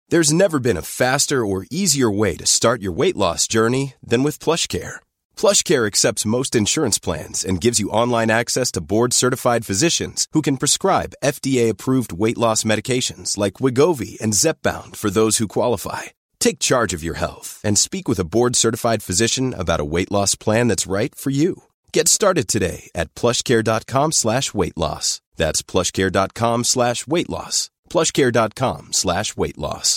There's never been a faster or easier way to start your weight loss journey than with PlushCare. PlushCare accepts most insurance plans and gives you online access to board-certified physicians who can prescribe FDA-approved weight loss medications like Wegovy and Zepbound for those who qualify. Take charge of your health and speak with a board-certified physician about a weight loss plan that's right for you. Get started today at plushcare.com/weight-loss. That's plushcare.com/weight-loss. plushcare.com/weight-loss.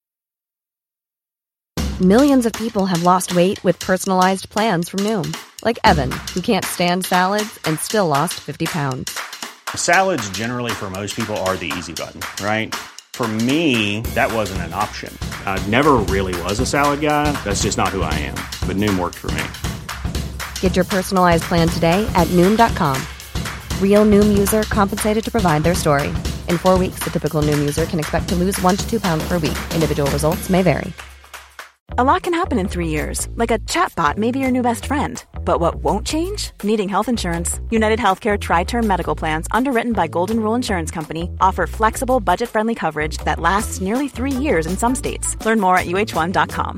Millions of people have lost weight with personalized plans from Noom. Like Evan, who can't stand salads and still lost 50 pounds. Salads generally for most people are the easy button, right? For me, that wasn't an option. I never really was a salad guy. That's just not who I am. But Noom worked for me. Get your personalized plan today at Noom.com. Real Noom user compensated to provide their story. In 4 weeks, the typical Noom user can expect to lose 1 to 2 pounds per week. Individual results may vary. A lot can happen in 3 years, like a chatbot may be your new best friend. But what won't change? Needing health insurance. United Healthcare Tri-Term Medical Plans, underwritten by Golden Rule Insurance Company, offer flexible, budget-friendly coverage that lasts nearly 3 years in some states. Learn more at uh1.com.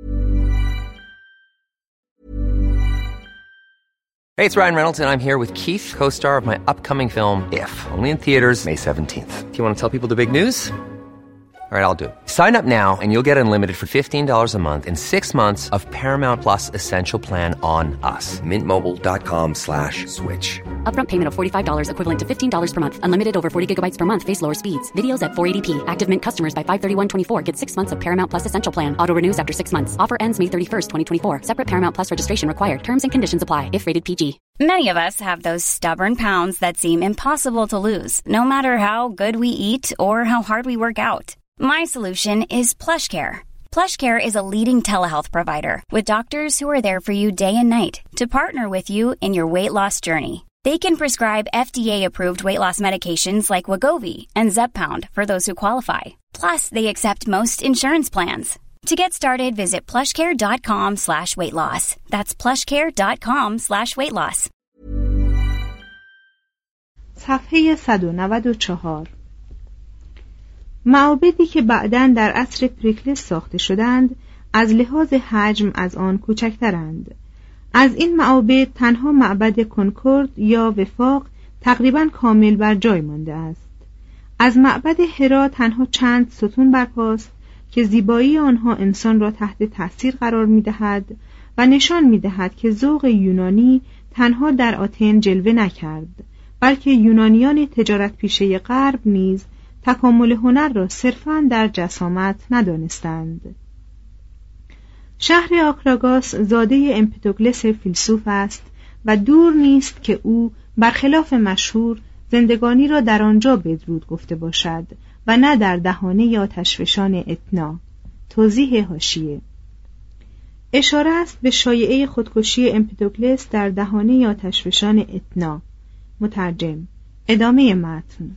Hey, it's Ryan Reynolds, and I'm here with Keith, co-star of my upcoming film, If, only in theaters May 17th. Do you want to tell people the big news? All right, I'll do it. Sign up now and you'll get unlimited for $15 a month and 6 months of Paramount Plus Essential Plan on us. MintMobile.com/switch. Upfront payment of $45 equivalent to $15 per month. Unlimited over 40 gigabytes per month. Face lower speeds. Videos at 480p. Active Mint customers by 531.24 get 6 months of Paramount Plus Essential Plan. Auto renews after 6 months. Offer ends May 31st, 2024. Separate Paramount Plus registration required. Terms and conditions apply if rated PG. Many of us have those stubborn pounds that seem impossible to lose, no matter how good we eat or how hard we work out. My solution is PlushCare. PlushCare is a leading telehealth provider with doctors who are there for you day and night to partner with you in your weight loss journey. They can prescribe FDA-approved weight loss medications like Wegovy and Zepbound for those who qualify. Plus, they accept most insurance plans. To get started, visit plushcare.com/weight-loss. That's plushcare.com/weight-loss. صفحه 194. معابدی که بعداً در عصر پریکلس ساخته شدند از لحاظ حجم از آن کوچکترند. از این معابد تنها معبد کنکورد یا وفاق تقریباً کامل بر جای مانده است. از معبد هرا تنها چند ستون برپاست که زیبایی آنها انسان را تحت تأثیر قرار می‌دهد و نشان می‌دهد که ذوق یونانی تنها در آتن جلوه نکرد، بلکه یونانیان تجارت پیشه غرب نیز تکامل هنر را صرفاً در جسامت ندانستند. شهر آکراگاس زاده امپدوکلس فیلسوف است و دور نیست که او برخلاف مشهور زندگانی را در آنجا بدرود گفته باشد و نه در دهانه آتشفشان اتنا. توضیح حاشیه: اشاره است به شایعه خودکشی امپدوکلس در دهانه آتشفشان اتنا. مترجم. ادامه متن.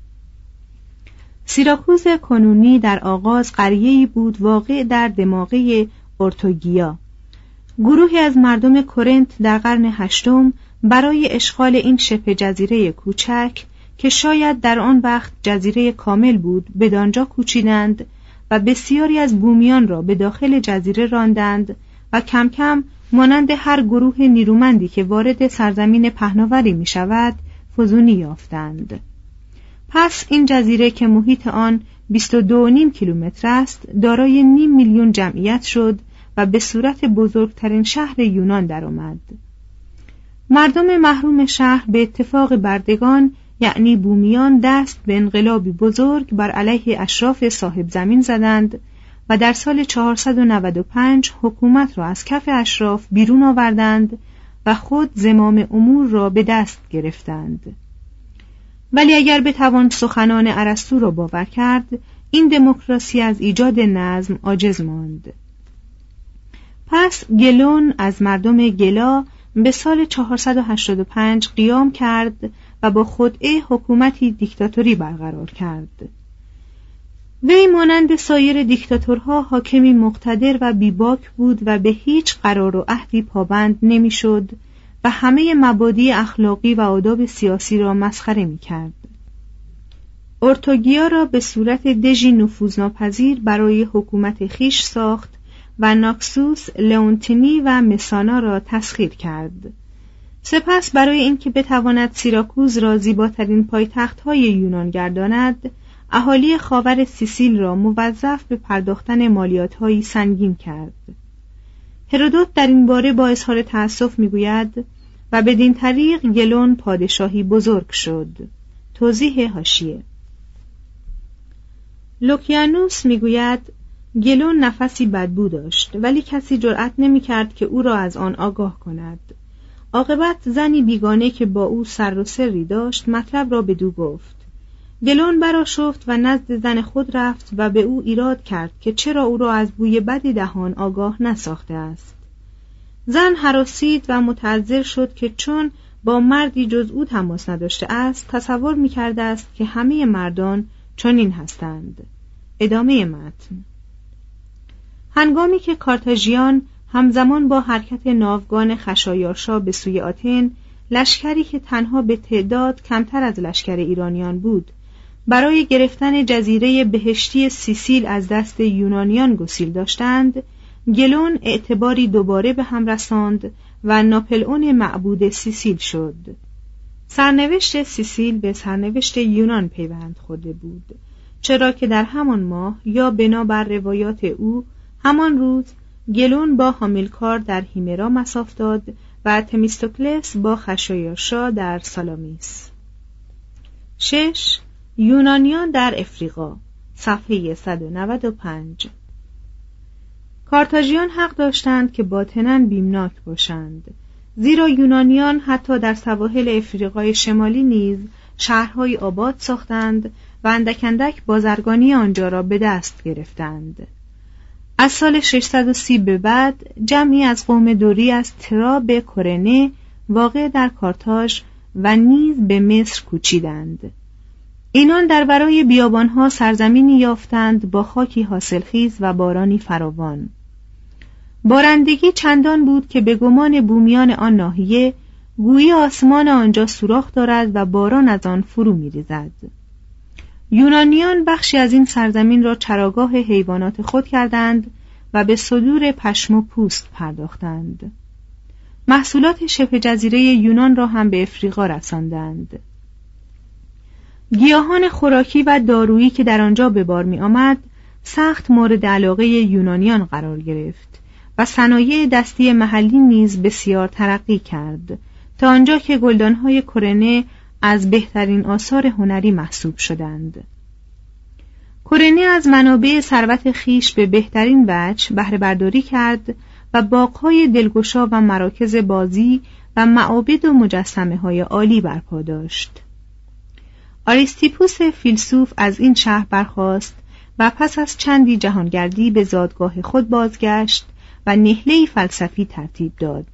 سیراکوز کنونی در آغاز قریه‌ای بود واقع در دماغه اورتوگیا. گروهی از مردم کورنت در قرن هشتم برای اشغال این شبه جزیره کوچک که شاید در آن وقت جزیره کامل بود بدانجا کوچیدند و بسیاری از بومیان را به داخل جزیره راندند و کم کم مانند هر گروه نیرومندی که وارد سرزمین پهناوری می شود فزونی یافتند. پس این جزیره که محیط آن 22.5 کیلومتر است دارای 500,000 میلیون جمعیت شد و به صورت بزرگترین شهر یونان درآمد. مردم محروم شهر به اتفاق بردگان یعنی بومیان دست به انقلابی بزرگ بر علیه اشراف صاحب زمین زدند و در سال 495 حکومت را از کف اشراف بیرون آوردند و خود زمام امور را به دست گرفتند. ولی اگر بتوان سخنان ارسطو را باور کرد، این دموکراسی از ایجاد نظم عاجز ماند. پس گلون از مردم گلا به سال 485 قیام کرد و با خدعه حکومتی دیکتاتوری برقرار کرد. وی مانند سایر دیکتاتورها حاکمی مقتدر و بیباک بود و به هیچ قرار و عهدی پابند نمیشد و همه مبادی اخلاقی و آداب سیاسی را مسخره می‌کرد. اورتوگیا را به صورت دژی نفوذناپذیر برای حکومت خیش ساخت و ناکسوس، لئونتینی و مسانا را تسخیر کرد. سپس برای اینکه بتواند سیراکوز را زیباترین پایتخت‌های یونان گرداند، اهالی خاور سیسیل را موظف به پرداختن مالیات‌هایی سنگین کرد. هرودوت در این باره با اظهار تأسف می‌گوید و بدین طریق گلون پادشاهی بزرگ شد. توضیح حاشیه: لوکیانوس می‌گوید گلون نفسی بدبو داشت ولی کسی جرأت نمی‌کرد که او را از آن آگاه کند. عاقبت زنی بیگانه که با او سر و سری داشت مطلب را بدو گفت. گلون برآشفت و نزد زن خود رفت و به او ایراد کرد که چرا او را از بوی بد دهان آگاه نساخته است. زن هراسید و متعذر شد که چون با مردی جز او تماس نداشته است تصور می‌کرده است که همه مردان چنین هستند. ادامه متن. هنگامی که کارتاژیان همزمان با حرکت ناوگان خشایارشا به سوی آتن، لشکری که تنها به تعداد کمتر از لشکر ایرانیان بود، برای گرفتن جزیره بهشتی سیسیل از دست یونانیان گسیل داشتند، گلون اعتباری دوباره به هم رساند و ناپلئون معبود سیسیل شد. سرنوشت سیسیل به سرنوشت یونان پیوند خورده بود، چرا که در همان ماه یا بنابر روایات او همان روز گلون با هامیلکار در هیمرا مصاف داد و تمیستوکلس با خشایارشا در سالامیس. 6. یونانیان در افریقا، صفحه 195. کارتاژیان حق داشتند که باطناً بیمناک باشند، زیرا یونانیان حتی در سواحل افریقای شمالی نیز شهرهای آباد ساختند و اندک اندک بازرگانی آنجا را به دست گرفتند. از سال 630 به بعد جمعی از قوم دوری از ترا به کورنه واقع در کارتاژ و نیز به مصر کوچیدند. اینان در برای بیابانها سرزمینی یافتند با خاکی حاصلخیز و بارانی فراوان. بارندگی چندان بود که به گمان بومیان آن ناحیه گویی آسمان آنجا سوراخ دارد و باران از آن فرو می‌ریزد. یونانیان بخشی از این سرزمین را چراگاه حیوانات خود کردند و به صدور پشم و پوست پرداختند. محصولات شبه جزیره یونان را هم به افریقا رساندند. گیاهان خوراکی و دارویی که در آنجا به بار می آمد سخت مورد علاقه یونانیان قرار گرفت و صنایع دستی محلی نیز بسیار ترقی کرد تا آنجا که گلدانهای کورنه از بهترین آثار هنری محسوب شدند. کورنه از منابع ثروت خیش به بهترین وجه بهره برداری کرد و باغ‌های دلگشا و مراکز بازی و معابد و مجسمه‌های عالی برپا داشت. آریستیپوس فیلسوف از این شهر برخاست و پس از چندی جهانگردی به زادگاه خود بازگشت و نهله‌ای فلسفی ترتیب داد.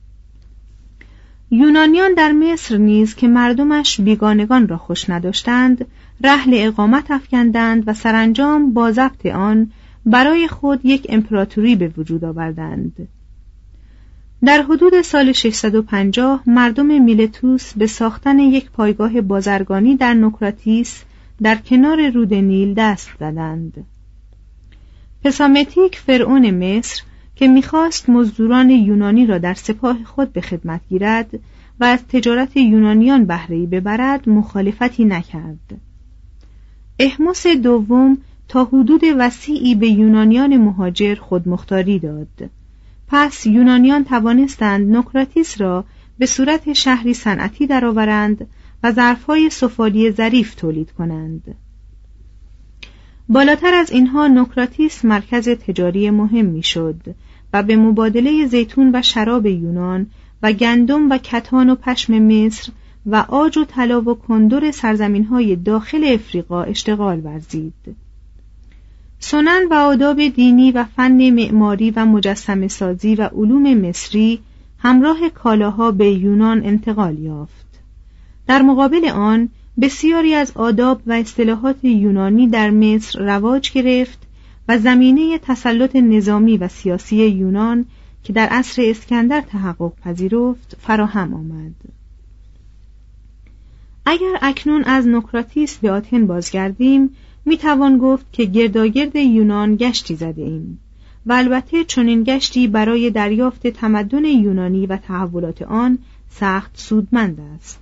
یونانیان در مصر نیز که مردمش بیگانگان را خوش نداشتند، رحل اقامت افکندند و سرانجام با ضبط آن برای خود یک امپراتوری به وجود آوردند. در حدود سال 650 مردم میلتوس به ساختن یک پایگاه بازرگانی در نوکراتیس در کنار رود نیل دست زدند. پسامتیک فرعون مصر که می‌خواست مزدوران یونانی را در سپاه خود به خدمت گیرد و از تجارت یونانیان بهره‌ای ببرد مخالفتی نکرد. احمس دوم تا حدود وسیعی به یونانیان مهاجر خودمختاری داد. پس یونانیان توانستند نوکراتیس را به صورت شهری صنعتی درآورند و ظرف‌های سفالی ظریف تولید کنند. بالاتر از اینها نوکراتیس مرکز تجاری مهم میشد و به مبادله زیتون و شراب یونان و گندم و کتان و پشم مصر و عاج و طلا و کندر سرزمین‌های داخل افریقا اشتغال ورزید. سنن و آداب دینی و فن معماری و مجسمه سازی و علوم مصری همراه کالاها به یونان انتقال یافت. در مقابل آن بسیاری از آداب و اصطلاحات یونانی در مصر رواج گرفت و زمینه تسلط نظامی و سیاسی یونان که در عصر اسکندر تحقق پذیرفت فراهم آمد. اگر اکنون از نوکراتیس به آتن بازگردیم میتوان گفت که گرداگرد یونان گشتی زده ایم و البته چنین گشتی برای دریافت تمدن یونانی و تحولات آن سخت سودمند است.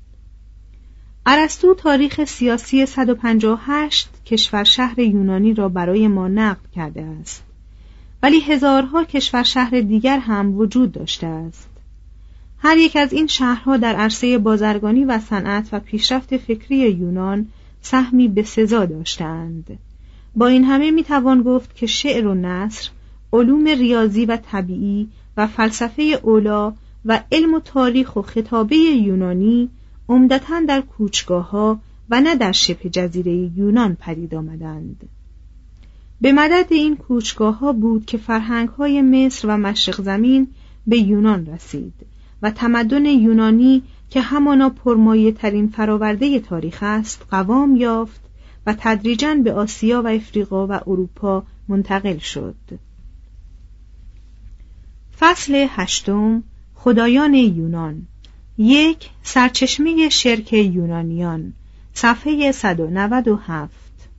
ارسطو تاریخ سیاسی 158 کشور شهر یونانی را برای ما نقل کرده است، ولی هزارها کشور شهر دیگر هم وجود داشته است. هر یک از این شهرها در عرصه بازرگانی و صنعت و پیشرفت فکری یونان سهمی بسزا داشتند. با این همه میتوان گفت که شعر و نثر، علوم ریاضی و طبیعی و فلسفه اولی و علم و تاریخ و خطابه یونانی عمدتاً در کوچگاه‌ها و نه در شبه جزیره یونان پدید آمدند. به مدد این کوچگاه‌ها بود که فرهنگ‌های مصر و مشرق زمین به یونان رسید و تمدن یونانی که همانا پرمایه ترین فراورده تاریخ است قوام یافت و تدریجاً به آسیا و افریقا و اروپا منتقل شد. فصل 8. خدایان یونان. 1. سرچشمه شرک یونانیان. صفحه 197.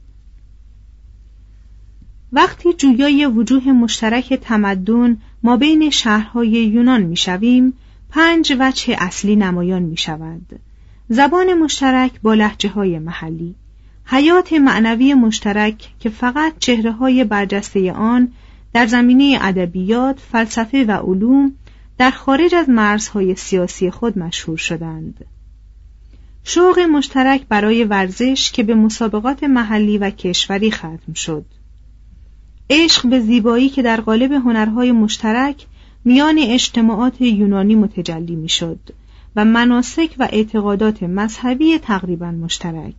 وقتی جویای وجوه مشترک تمدن ما بین شهرهای یونان می‌شویم، 5 وجه اصلی نمایان می‌شود: زبان مشترک با لهجه‌های محلی، حیات معنوی مشترک که فقط چهره‌های برجسته آن در زمینه ادبیات، فلسفه و علوم در خارج از مرزهای سیاسی خود مشهور شدند، شوق مشترک برای ورزش که به مسابقات محلی و کشوری ختم شد، عشق به زیبایی که در قالب هنرهای مشترک میان اجتماعات یونانی متجلی میشد و مناسک و اعتقادات مذهبی تقریبا مشترک.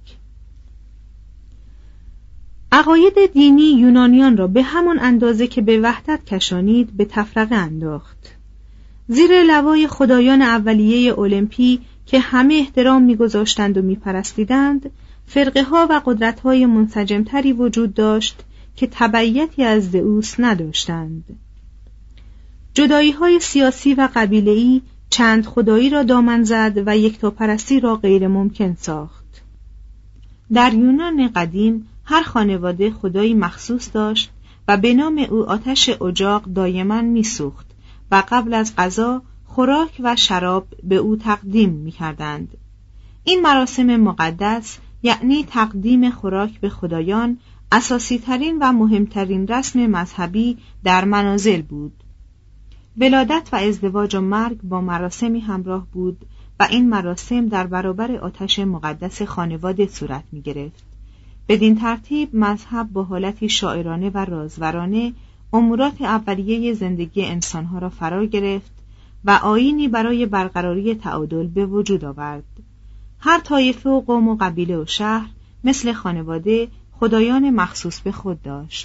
عقاید دینی یونانیان را به همان اندازه که به وحدت کشانید به تفرقه انداخت. زیر لوای خدایان اولیه المپی که همه احترام می‌گذاشتند و می‌پرستیدند، فرقه‌ها و قدرت‌های منسجم‌تری وجود داشت که تبعیتی از زئوس نداشتند. جدایی‌های سیاسی و قبیله‌ای چند خدایی را دامن زد و یکتاپرستی را غیر ممکن ساخت. در یونان قدیم هر خانواده خدایی مخصوص داشت و به نام او آتش اجاق دایما می‌سوخت و قبل از غذا خوراک و شراب به او تقدیم می‌کردند. این مراسم مقدس یعنی تقدیم خوراک به خدایان اساسی ترین و مهمترین رسم مذهبی در منازل بود. ولادت و ازدواج و مرگ با مراسمی همراه بود و این مراسم در برابر آتش مقدس خانواده صورت می گرفت. بدین ترتیب مذهب با حالتی شاعرانه و رازورانه امورات اولیه زندگی انسانها را فرا گرفت و آیینی برای برقراری تعادل به وجود آورد. هر طایفه و قوم و قبیله و شهر مثل خانواده خدایان مخصوص به خود داشت.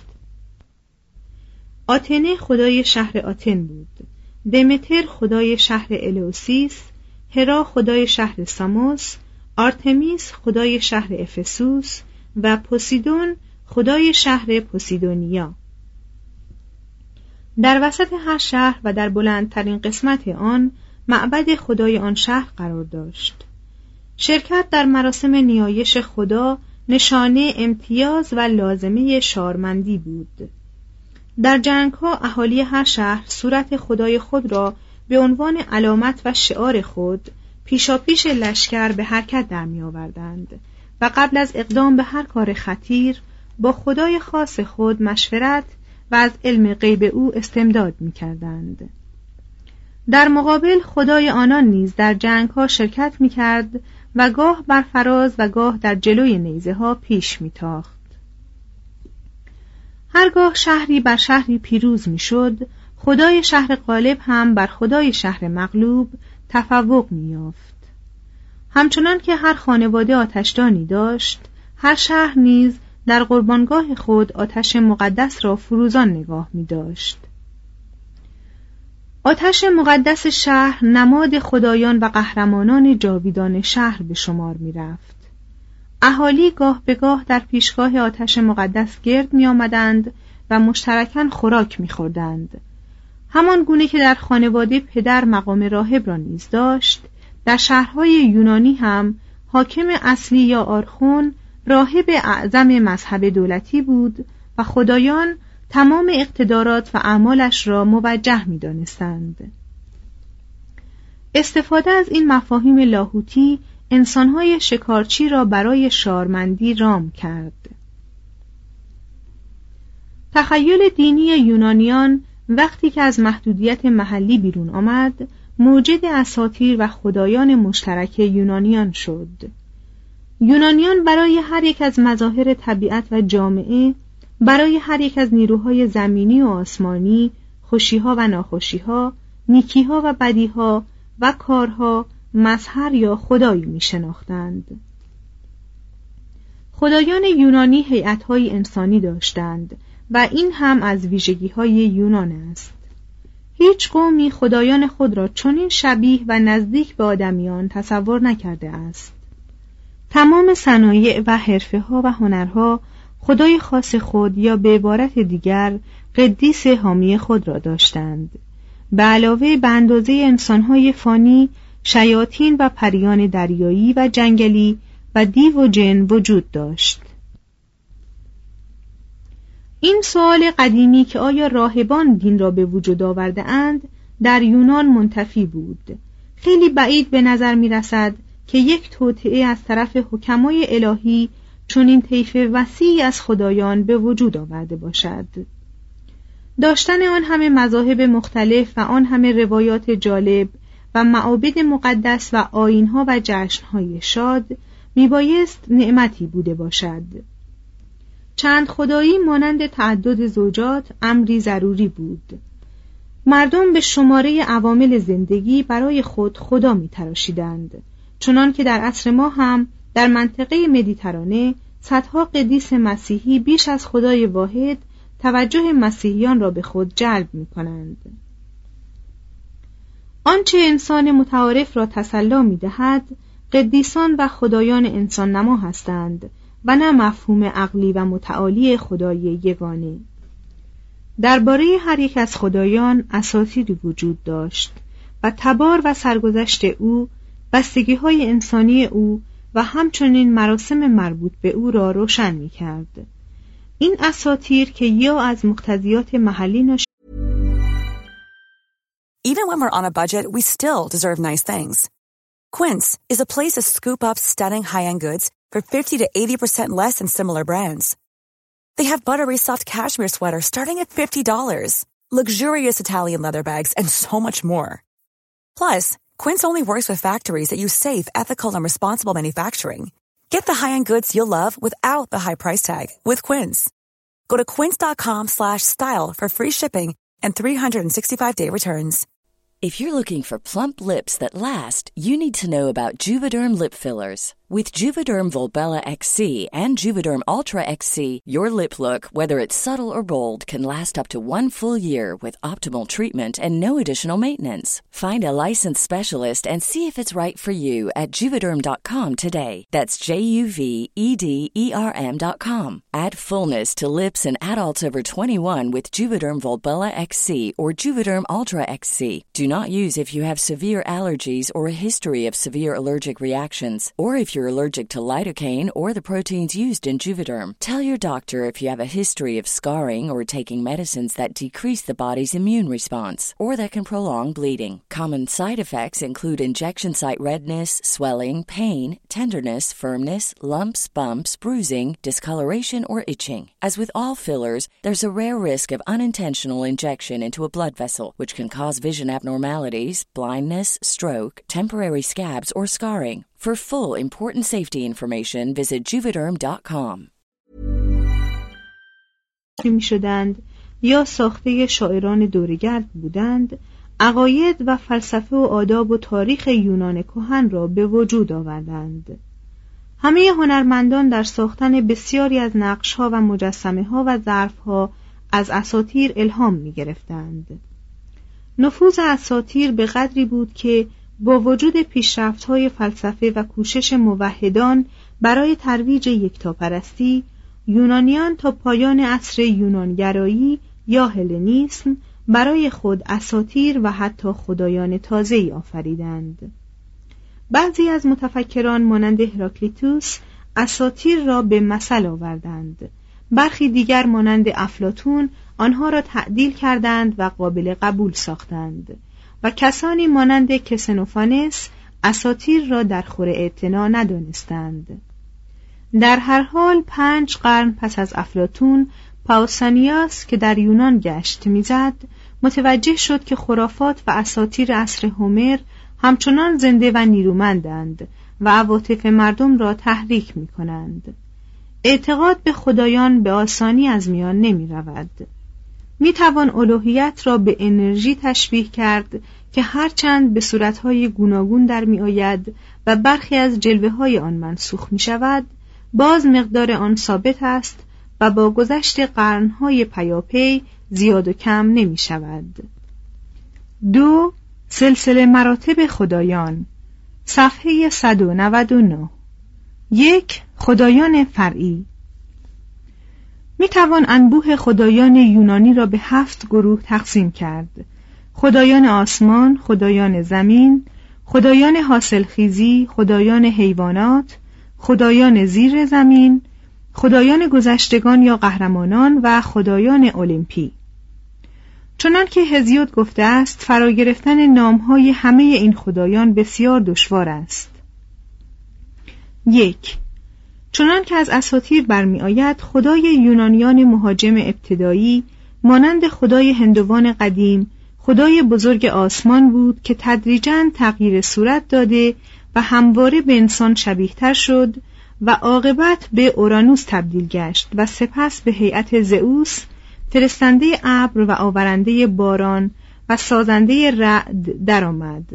آتنه خدای شهر آتن بود، دمتر خدای شهر الئوسیس، هرا خدای شهر ساموس، آرتمیس خدای شهر افسوس و پوسیدون خدای شهر پوسیدونیا. در وسط هر شهر و در بلندترین قسمت آن معبد خدای آن شهر قرار داشت. شرکت در مراسم نیایش خدا نشانه امتیاز و لازمه شارمندی بود. در جنگ‌ها اهالی هر شهر صورت خدای خود را به عنوان علامت و شعار خود پیشاپیش لشکر به حرکت در می‌آوردند و قبل از اقدام به هر کار خطیر با خدای خاص خود مشورت و از علم غیب او استمداد می‌کردند. در مقابل خدای آنان نیز در جنگ‌ها شرکت می‌کرد و گاه بر فراز و گاه در جلوی نیزه‌ها پیش می‌تاخت. هرگاه شهری بر شهری پیروز می‌شد، خدای شهر غالب هم بر خدای شهر مغلوب تفوق می‌یافت. همچنان که هر خانواده آتشدانی داشت، هر شهر نیز در قربانگاه خود آتش مقدس را فروزان نگاه می‌داشت. آتش مقدس شهر نماد خدایان و قهرمانان جاویدان شهر به شمار می‌رفت. اهالی گاه به گاه در پیشگاه آتش مقدس گرد می‌آمدند و مشترکاً خوراک می‌خوردند. همان گونه که در خانواده پدر مقام راهب را نیز داشت، در شهرهای یونانی هم حاکم اصلی یا آرخون راهب اعظم مذهب دولتی بود و خدایان تمام اقتدارات و اعمالش را موجه می‌دانستند. استفاده از این مفاهیم لاهوتی انسان‌های شکارچی را برای شارمندی رام کرد. تخیل دینی یونانیان وقتی که از محدودیت محلی بیرون آمد، موجد اساطیر و خدایان مشترک یونانیان شد. یونانیان برای هر یک از مظاهر طبیعت و جامعه، برای هر یک از نیروهای زمینی و آسمانی، خوشی‌ها و ناخوشی‌ها، نیکی‌ها و بدی‌ها و کارها مظهر یا خدایی می‌شناختند. خدایان یونانی هیئت‌های انسانی داشتند و این هم از ویژگی‌های یونان است. هیچ قومی خدایان خود را چنین شبیه و نزدیک به آدمیان تصور نکرده است. تمام صنایع و حرفه‌ها و هنرها خدای خاص خود یا به عبارت دیگر قدیس حامی خود را داشتند. به علاوه به اندازه انسان‌های فانی، شیاطین و پریان دریایی و جنگلی و دیو و جن وجود داشت. این سوال قدیمی که آیا راهبان دین را به وجود آورده اند در یونان منتفی بود. خیلی بعید به نظر می رسد که یک توطئه از طرف حکمای الهی چنین طیف وسیعی از خدایان به وجود آورده باشد. داشتن آن همه مذاهب مختلف و آن همه روایات جالب و معابد مقدس و آیین‌ها و جشن‌های شاد میبایست نعمتی بوده باشد. چند خدایی مانند تعدد زوجات امری ضروری بود. مردم به شماره عوامل زندگی برای خود خدا می‌تراشیدند، چنان که در عصر ما هم در منطقه مدیترانه صدها قدیس مسیحی بیش از خدای واحد توجه مسیحیان را به خود جلب می‌کنند. آنچه انسان متعارف را تسلی می‌دهد قدیسان و خدایان انسان نما هستند و نه مفهوم عقلی و متعالی خدای یگانه. درباره هر یک از خدایان اساطیری وجود داشت و تبار و سرگذشت او، بستگی‌های انسانی او و همچنین مراسم مربوط به او را روشن می‌کرد. این اساطیر که یا از مقتضیات محلی ناشی Even when we're on a budget, we still deserve nice things. Quince is a place to scoop up stunning high-end goods for 50 to 80% less than similar brands. They have buttery soft cashmere sweaters starting at $50, luxurious Italian leather bags, and so much more. Plus, Quince only works with factories that use safe, ethical, and responsible manufacturing. Get the high-end goods you'll love without the high price tag with Quince. Go to quince.com/style for free shipping and 365-day returns. If you're looking for plump lips that last, you need to know about Juvederm lip fillers. With Juvederm Volbella XC and Juvederm Ultra XC, your lip look, whether it's subtle or bold, can last up to 1 full year with optimal treatment and no additional maintenance. Find a licensed specialist and see if it's right for you at Juvederm.com today. That's JUVEDERM.com. Add fullness to lips in adults over 21 with Juvederm Volbella XC or Juvederm Ultra XC. Do not use if you have severe allergies or a history of severe allergic reactions, or if you're allergic to lidocaine or the proteins used in Juvederm. Tell your doctor if you have a history of scarring or taking medicines that decrease the body's immune response or that can prolong bleeding. Common side effects include injection site redness, swelling, pain, tenderness, firmness, lumps, bumps, bruising, discoloration, or itching. As with all fillers, there's a rare risk of unintentional injection into a blood vessel, which can cause vision abnormalities, blindness, stroke, temporary scabs, or scarring. For full important safety information, visit Juvederm.com. می‌شدند یا ساخته شاعران دورگرد بودند، عقاید و فلسفه و آداب و تاریخ یونان کهن را به وجود آوردند. همه هنرمندان در ساختن بسیاری از نقش‌ها و مجسمه‌ها و ظرف‌ها از اساطیر الهام می‌گرفتند. نفوذ اساطیر به قدری بود که با وجود پیشرفت‌های فلسفه و کوشش موحدان برای ترویج یکتاپرستی، یونانیان تا پایان عصر یونانگرایی یا هلنیسم برای خود اساطیر و حتی خدایان تازه‌ای آفریدند. بعضی از متفکران مانند هراکلیتوس اساطیر را به مثل آوردند. برخی دیگر مانند افلاطون آنها را تعدیل کردند و قابل قبول ساختند و کسانی مانند کسنوفانس اساطیر را در خور اعتنا ندانستند. در هر حال 5 قرن پس از افلاطون، پاوسانیاس که در یونان گشت میزد متوجه شد که خرافات و اساطیر عصر هومر همچنان زنده و نیرومندند و عواطف مردم را تحریک می کنند. اعتقاد به خدایان به آسانی از میان نمی رود. می توان الوهیت را به انرژی تشبیه کرد که هرچند به صورتهای گوناگون در می آید و برخی از جلوه های آن منسوخ می شود، باز مقدار آن ثابت است و با گذشت قرنهای پیاپی زیاد و کم نمی شود. 2. سلسله مراتب خدایان، صفحه 199. 1. خدایان فرعی. می توان انبوه خدایان یونانی را به 7 گروه تقسیم کرد: خدایان آسمان، خدایان زمین، خدایان حاصلخیزی، خدایان حیوانات، خدایان زیر زمین، خدایان گذشتگان یا قهرمانان و خدایان المپی. چنان که هزیود گفته است، فرا گرفتن نامهای همه این خدایان بسیار دشوار است. 1. چنان که از اساطیر برمی آید، خدای یونانیان مهاجم ابتدایی مانند خدای هندوان قدیم خدای بزرگ آسمان بود که تدریجاً تغییر صورت داده و همواره به انسان شبیه‌تر شد و عاقبت به اورانوس تبدیل گشت و سپس به هیئت زئوس، فرستنده ابر و آورنده باران و سازنده رعد درآمد.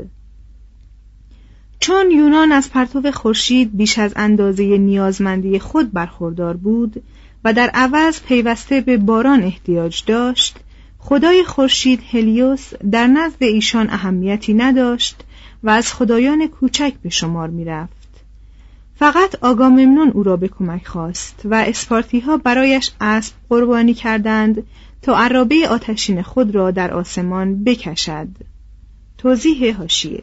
چون یونان از پرتو خورشید بیش از اندازه نیازمندی خود برخوردار بود و در عوض پیوسته به باران احتیاج داشت، خدای خورشید هلیوس در نزد ایشان اهمیتی نداشت و از خدایان کوچک به شمار می رفت. فقط آگاممنون او را به کمک خواست و اسپارتی‌ها برایش اسب قربانی کردند تا عرابه آتشین خود را در آسمان بکشد. توضیح حاشیه: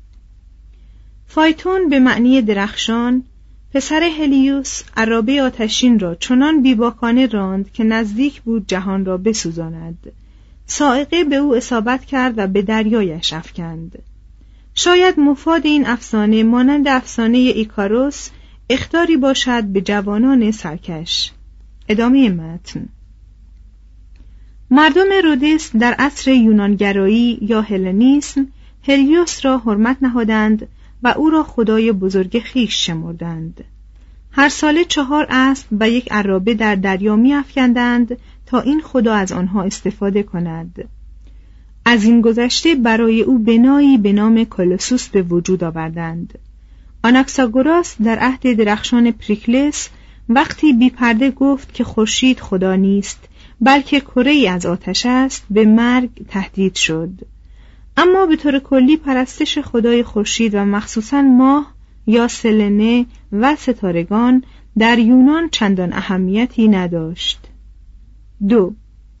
فایتون به معنی درخشان، پسر هلیوس، عرابه آتشین را چنان بیباکانه راند که نزدیک بود جهان را بسوزاند. صاعقه به او اصابت کرد و به دریایش افکند. شاید مفاد این افسانه مانند افسانه ایکاروس اخطاری باشد به جوانان سرکش. ادامه متن. مردم رودس در عصر یونانگرایی یا هلنیسم هلیوس را حرمت نهادند و او را خدای بزرگ خویش شمردند. هر ساله 4 اسب و 1 عرابه در دریا می‌افکندند تا این خدا از آنها استفاده کند. از این گذشته برای او بنایی به نام کولوسوس به وجود آوردند. آناکساگوراس در عهد درخشان پریکلس وقتی بی پرده گفت که خورشید خدا نیست بلکه کره‌ای از آتش است، به مرگ تهدید شد. اما به طور کلی پرستش خدای خورشید و مخصوصاً ماه یا سلنه و ستارگان در یونان چندان اهمیتی نداشت. 2.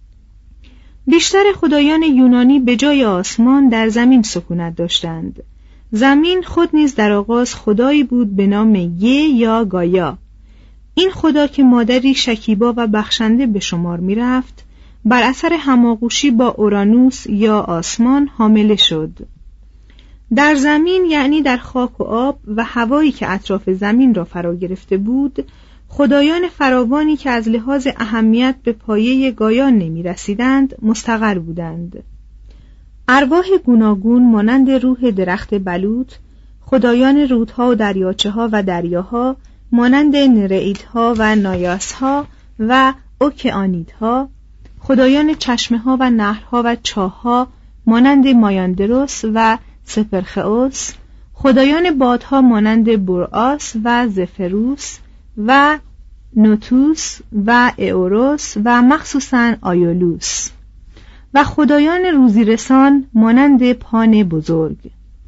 بیشتر خدایان یونانی به جای آسمان در زمین سکونت داشتند. زمین خود نیز در آغاز خدایی بود به نام یا گایا. این خدا که مادری شکیبا و بخشنده به شمار می رفت، بر اثر هماغوشی با اورانوس یا آسمان حامله شد. در زمین، یعنی در خاک و آب و هوایی که اطراف زمین را فرا گرفته بود، خدایان فراوانی که از لحاظ اهمیت به پایه گایا نمی رسیدند مستقر بودند. ارواح گوناگون مانند روح درخت بلوط، خدایان رودها و دریاچه ها و دریاها مانند نرئیدها و نایاسها و اوکئانیدها، خدایان چشمه ها و نهرها و چاهها مانند مایاندروس و سپرخئوس، خدایان بادها مانند بوراس و زفروس و نوتوس و ایوروس و مخصوصاً آیولوس، و خدایان روزیرسان مانند پان بزرگ.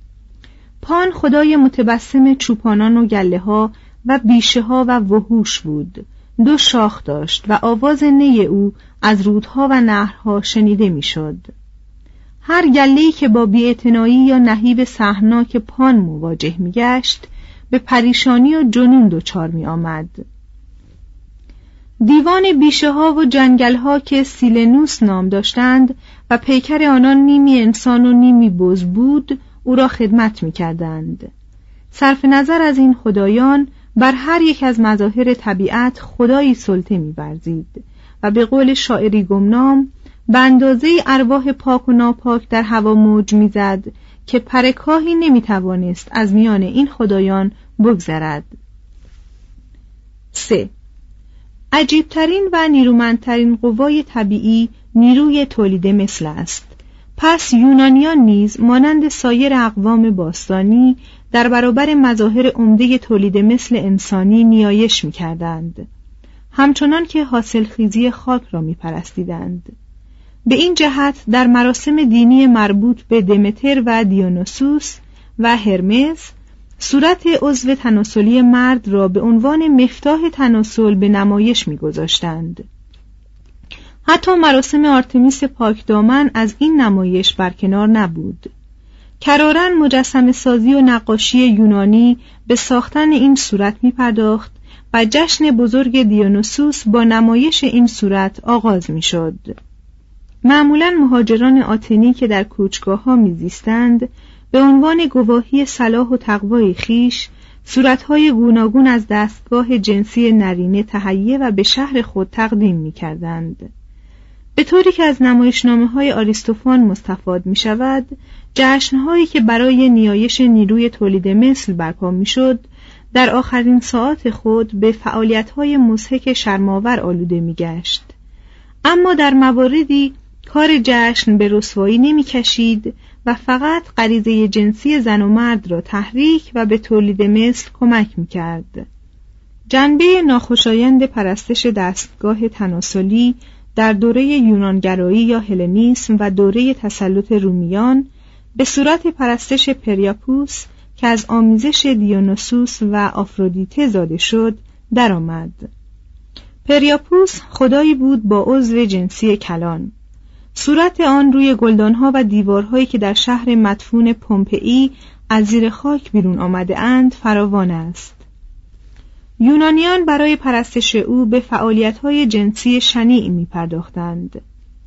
پان خدای متبسم چوپانان و گله ها و بیشه ها و وحوش بود. 2 شاخ داشت و آواز نی او از رودها و نهرها شنیده میشد. هر گله‌ای که با بی‌اعتنایی یا نهیب سهمناک پان مواجه می‌گشت به پریشانی و جنون دچار می‌آمد. دیوان بیشه ها و جنگل ها که سیلنوس نام داشتند و پیکر آنان نیمی انسان و نیمی بز بود او را خدمت می‌کردند. صرف نظر از این خدایان بر هر یک از مظاهر طبیعت خدایی سلطه می‌ورزید و به قول شاعری گمنام به اندازه ارواح پاک و ناپاک در هوا موج می‌زد که پرکاهی نمی‌توانست از میان این خدایان بگذرد. 3. عجیبترین و نیرومندترین قوای طبیعی نیروی تولید مثل است. پس یونانیان نیز مانند سایر اقوام باستانی در برابر مظاهر عمده تولید مثل انسانی نیایش می‌کردند، همچنان که حاصلخیزی خاک را می‌پرستیدند. به این جهت در مراسم دینی مربوط به دمتر و دیونوسوس و هرمس صورت عضو تناسلی مرد را به عنوان مفتاح تناسل به نمایش می‌گذاشتند. حتی مراسم آرتمیس پاکدامن از این نمایش برکنار نبود. کراراً مجسمه سازی و نقاشی یونانی به ساختن این صورت می‌پرداخت و جشن بزرگ دیونوسوس با نمایش این صورت آغاز می‌شد. معمولاً مهاجران آتنی که در کوچگاه‌ها می‌زیستند به عنوان گواهی صلاح و تقوای خیش صورت‌های گوناگون از دستگاه جنسی نرینه تهیه و به شهر خود تقدیم می‌کردند. به طوری که از نمایشنامه‌های آریستوفان مستفاد می‌شود، جشن‌هایی که برای نیایش نیروی تولید مثل برپا می‌شد، در آخرین ساعات خود به فعالیت‌های مضحک شرم‌آور آلوده می‌گشت. اما در مواردی کار جشن به رسوایی نمی‌کشید و فقط غریزه جنسی زن و مرد را تحریک و به تولید مثل کمک می‌کرد. جنبه ناخوشایند پرستش دستگاه تناسلی در دوره یونانگرایی یا هلنیسم و دوره تسلط رومیان به صورت پرستش پریاپوس که از آمیزش دیونوسوس و آفرودیته زاده شد درآمد. پریاپوس خدایی بود با عضو جنسی کلان. صورت آن روی گلدانها و دیوارهایی که در شهر مدفون پومپئی از زیر خاک بیرون آمده اند فراوان است. یونانیان برای پرستش او به فعالیت‌های جنسی شنیع می‌پرداختند.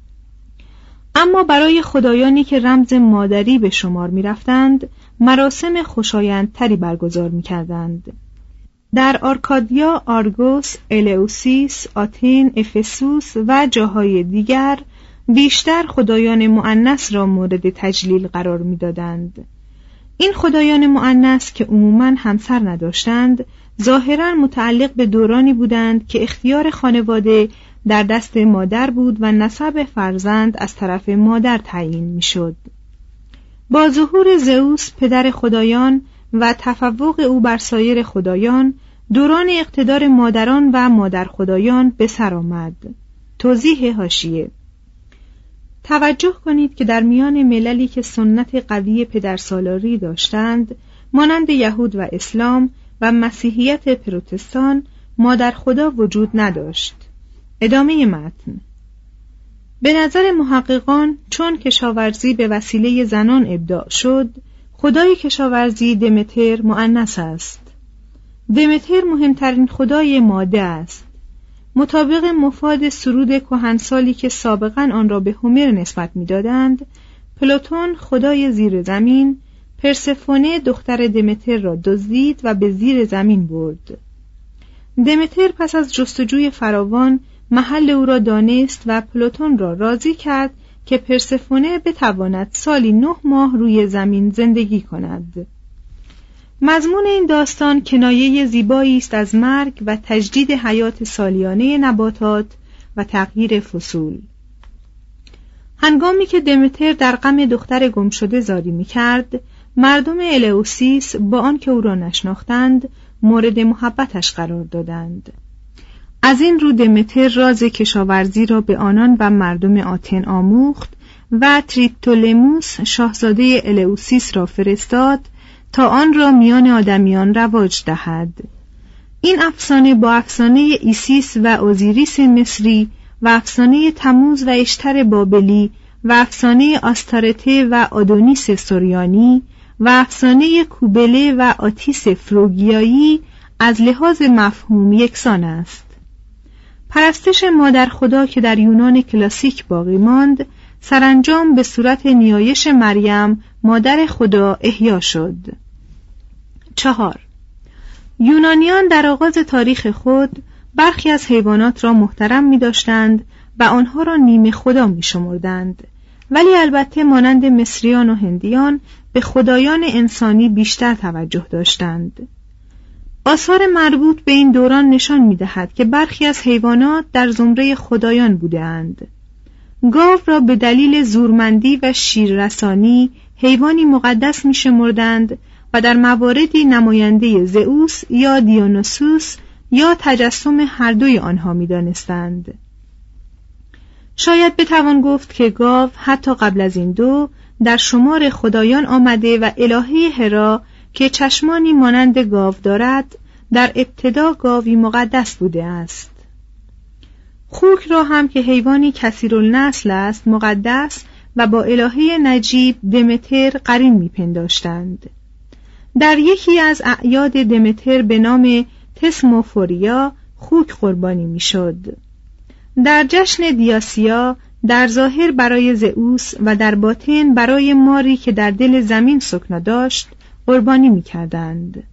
اما برای خدایانی که رمز مادری به شمار می‌رفتند، مراسم خوشایندتری برگزار می‌کردند. در آرکادیا، آرگوس، الئوسیس، آتن، افسوس و جاهای دیگر بیشتر خدایان مؤنث را مورد تجلیل قرار می‌دادند. این خدایان مؤنث که عموماً همسر نداشتند، ظاهراً متعلق به دورانی بودند که اختیار خانواده در دست مادر بود و نسب فرزند از طرف مادر تعیین می‌شد. با ظهور زئوس پدر خدایان و تفوق او بر سایر خدایان، دوران اقتدار مادران و مادر خدایان به سر آمد. توضیح حاشیه: توجه کنید که در میان مللی که سنت قوی پدرسالاری داشتند، مانند یهود و اسلام و مسیحیت پروتستان، مادر خدا وجود نداشت. ادامه متن: به نظر محققان چون کشاورزی به وسیله زنان ابداع شد، خدای کشاورزی دمتر مؤنث است. دمتر مهمترین خدای ماده است. مطابق مفاد سرود کهنسالی که سابقاً آن را به هومر نسبت می‌دادند، پلوتون خدای زیر زمین، پرسفونه دختر دمتر را دزدید و به زیر زمین برد. دمتر پس از جستجوی فراوان محل او را دانست و پلوتون را راضی کرد که پرسفونه بتواند سالی 9 ماه روی زمین زندگی کند. مضمون این داستان کنایه زیبایی است از مرگ و تجدید حیات سالیانه نباتات و تغییر فصول. هنگامی که دمتر در غم دختر گمشده زاری می‌کرد، مردم الئوسیس با آنکه او را نشناختند مورد محبتش قرار دادند. از این رو دمتر راز کشاورزی را به آنان و مردم آتن آموخت و تریپتولموس شاهزاده الئوسیس را فرستاد تا آن را میان آدمیان رواج دهد. این افسانه با افسانه ایسیس و اوزیریس مصری و افسانه تموز و اشتر بابلی و افسانه آستارته و آدونیس سوریانی و افسانه کوبله و آتیس فروگیایی از لحاظ مفهوم یکسان است. پرستش مادر خدا که در یونان کلاسیک باقی ماند، سرانجام به صورت نیایش مریم مادر خدا احیا شد. 4. یونانیان در آغاز تاریخ خود برخی از حیوانات را محترم می داشتند و آنها را نیمه خدا می شمردند، ولی البته مانند مصریان و هندیان به خدایان انسانی بیشتر توجه داشتند. آثار مربوط به این دوران نشان می دهد که برخی از حیوانات در زمره خدایان بودند. گاو را به دلیل زورمندی و شیررسانی حیوانی مقدس می شمردند و در مواردی نماینده زئوس یا دیونوسوس یا تجسم هر دوی آنها می دانستند. شاید بتوان گفت که گاو حتی قبل از این دو در شمار خدایان آمده و الهه هرا که چشمانی مانند گاو دارد در ابتدا گاوی مقدس بوده است. خوک را هم که حیوانی کثیرالنسل است مقدس و با الهه نجیب دمتر قرین میپنداشتند. در یکی از اعیاد دمتر به نام تسموفوریا خوک قربانی میشد. در جشن دیاسیا در ظاهر برای زئوس و در باطن برای ماری که در دل زمین سکنا داشت قربانی می‌کردند.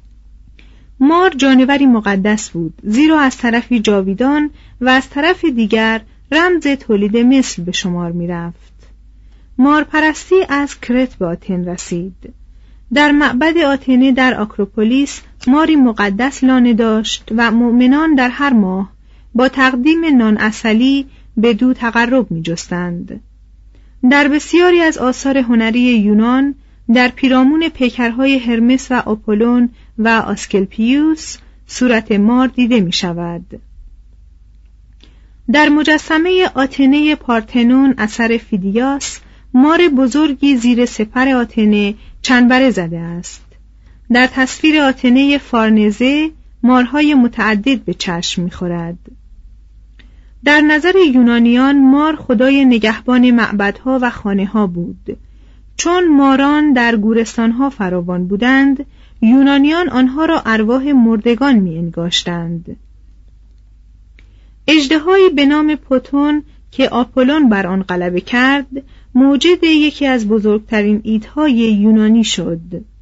مار جانوری مقدس بود، زیرا از طرفی جاویدان و از طرف دیگر رمز تولید مثل به شمار می‌رفت. مار پرستی از کرت به آتن رسید. در معبد آتنه در آکروپولیس ماری مقدس لانه داشت و مؤمنان در هر ماه با تقدیم نان عسلی به دو تقرب می جستند. در بسیاری از آثار هنری یونان در پیرامون پیکرهای هرمس و آپولون و آسکلپیوس صورت مار دیده می شود. در مجسمه آتنه پارتنون اثر فیدیاس مار بزرگی زیر سپر آتنه چنبره زده است. در تصویر آتنه فارنزه مارهای متعدد به چشم می خورد. در نظر یونانیان مار خدای نگهبان معبدها و خانه‌ها بود. چون ماران در گورستانها فراوان بودند، یونانیان آنها را ارواح مردگان می انگاشتند. اژدهایی به نام پوتون که آپولون بر آن غلبه کرد، موجد یکی از بزرگترین ایدهای یونانی شد.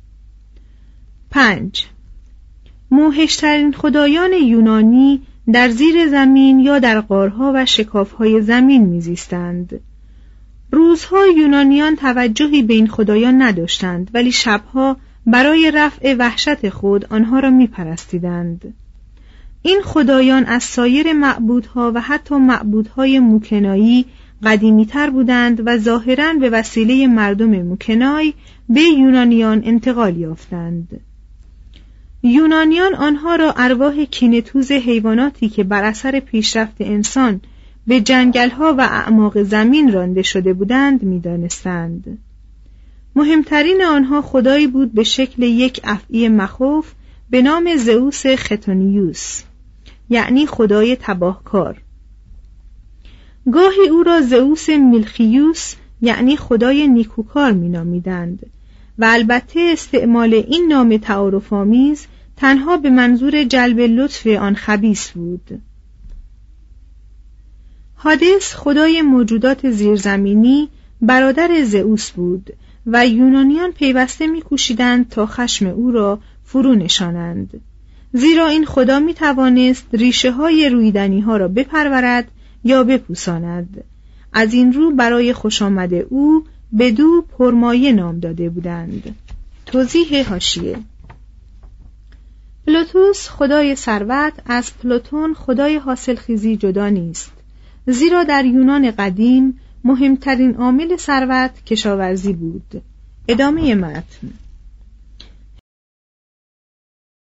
5. موحشترین خدایان یونانی در زیر زمین یا در غارها و شکافهای زمین میزیستند. روزها یونانیان توجهی به این خدایان نداشتند، ولی شبها برای رفع وحشت خود آنها را میپرستیدند. این خدایان از سایر معبودها و حتی معبودهای موکنایی قدیمی‌تر بودند و ظاهراً به وسیله مردم موکنای به یونانیان انتقال یافتند. یونانیان آنها را ارواح کینه‌توز حیواناتی که بر اثر پیشرفت انسان به جنگل‌ها و اعماق زمین رانده شده بودند می‌دانستند. مهمترین آنها خدایی بود به شکل یک افعی مخوف به نام زئوس ختونیوس، یعنی خدای تباهکار. گاهی او را زئوس میلخیوس یعنی خدای نیکوکار می‌نامیدند و البته استعمال این نام تعارف‌آمیز تنها به منظور جلب لطف آن خبیث بود. هادس خدای موجودات زیرزمینی برادر زئوس بود و یونانیان پیوسته می‌کوشیدند تا خشم او را فرو نشانند، زیرا این خدا می‌توانست ریشه‌های رویدنی‌ها را بپرورد یا بپوساند. از این رو برای خوشامد او بدو پرمایه نام داده بودند. توضیح حاشیه: پلوتوس خدای ثروت از پلوتون خدای حاصلخیزی جدا نیست، زیرا در یونان قدیم مهمترین عامل ثروت کشاورزی بود. ادامه متن.